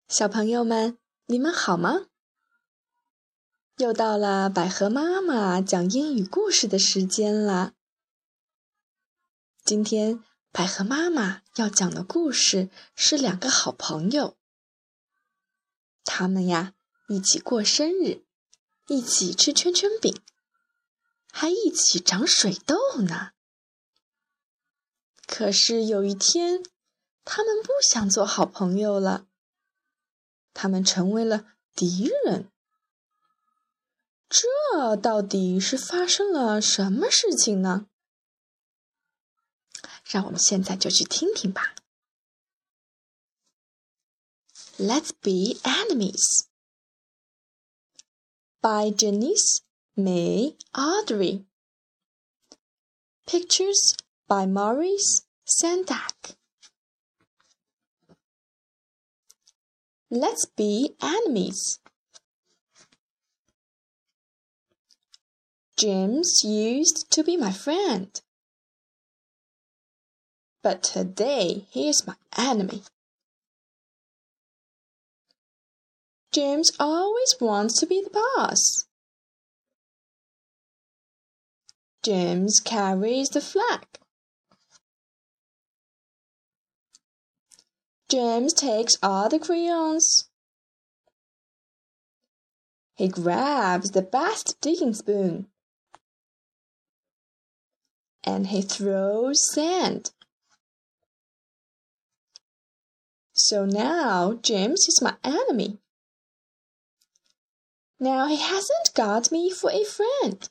小朋友们，你们好吗？又到了百合妈妈讲英语故事的时间了。今天百合妈妈要讲的故事是两个好朋友，他们呀一起过生日，一起吃圈圈饼，还一起长水痘呢。可是有一天，他们不想做好朋友了，他们成为了敌人。这到底是发生了什么事情呢？让我们现在就去听听吧。Let's be enemies by Janice May Audrey. Pictures by Maurice Sendak. Let's be enemies. James used to be my friend, but today he is my enemy. James always wants to be the boss. James carries the flag. James takes all the crayons. He grabs the best digging spoon. And he throws sand. So now James is my enemy. Now he hasn't got me for a friend.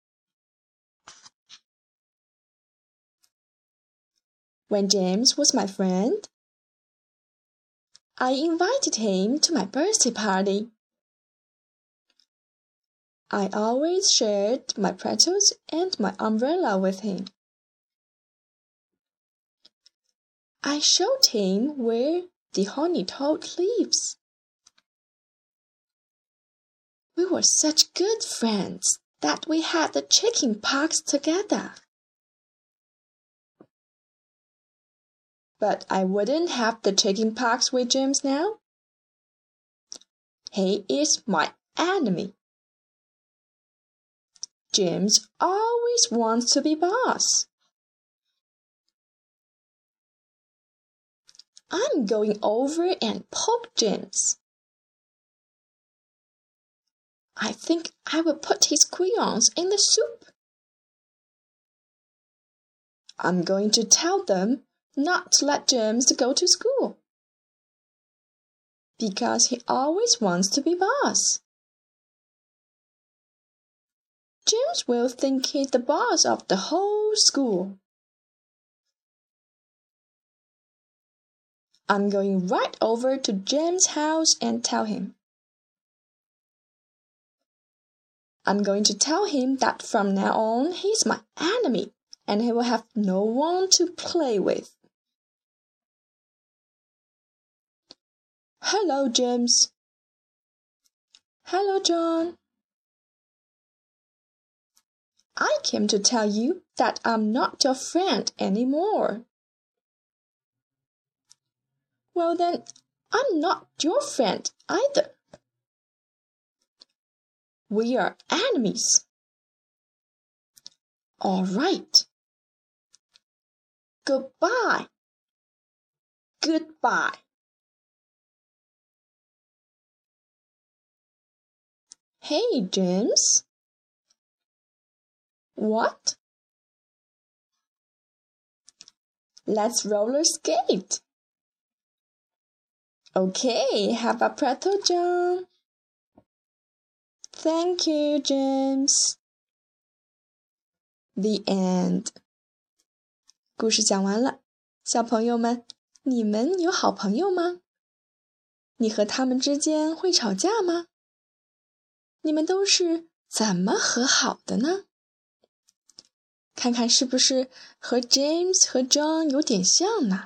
When James was my friend, I invited him to my birthday party. I always shared my pretzels and my umbrella with him. I showed him where the honey toad lives. We were such good friends that we had the chicken pox together. But I wouldn't have the chicken pox with James now. He is my enemy. James always wants to be boss. I'm going over and poke James. I think I will put his crayons in the soup. I'm going to tell them not to let James go to school, because he always wants to be boss. James will think he's the boss of the whole school. I'm going right over to James' house and tell him. I'm going to tell him that from now on he's my enemy and he will have no one to play with. Hello, James. Hello, John. I came to tell you that I'm not your friend anymore. Well then, I'm not your friend either. We are enemies. All right. Goodbye. Goodbye. Hey, James. What? Let's roller skate. Okay, have a pretzel, John. Thank you, James. The end. 故事讲完了，小朋友们，你们有好朋友吗？你和他们之间会吵架吗？你们都是怎么和好的呢？看看是不是和 James 和 John 有点像呢？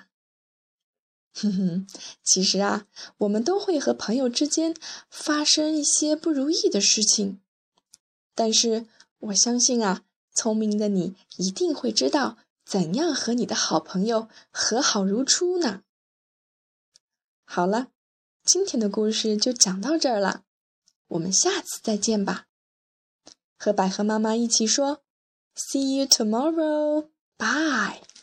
其实啊，我们都会和朋友之间发生一些不如意的事情，但是我相信啊，聪明的你一定会知道怎样和你的好朋友和好如初呢。好了， 今天的故事就讲到这儿了，我们下次再见吧。和百合妈妈一起说 See you tomorrow. Bye.